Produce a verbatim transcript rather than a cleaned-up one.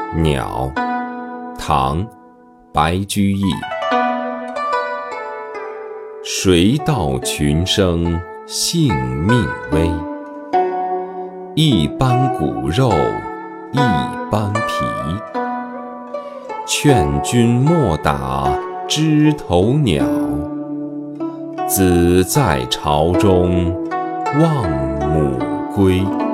鸟，唐·白居易。谁道群生性命微？一般骨肉，一般皮。劝君莫打枝头鸟，子在巢中望母归。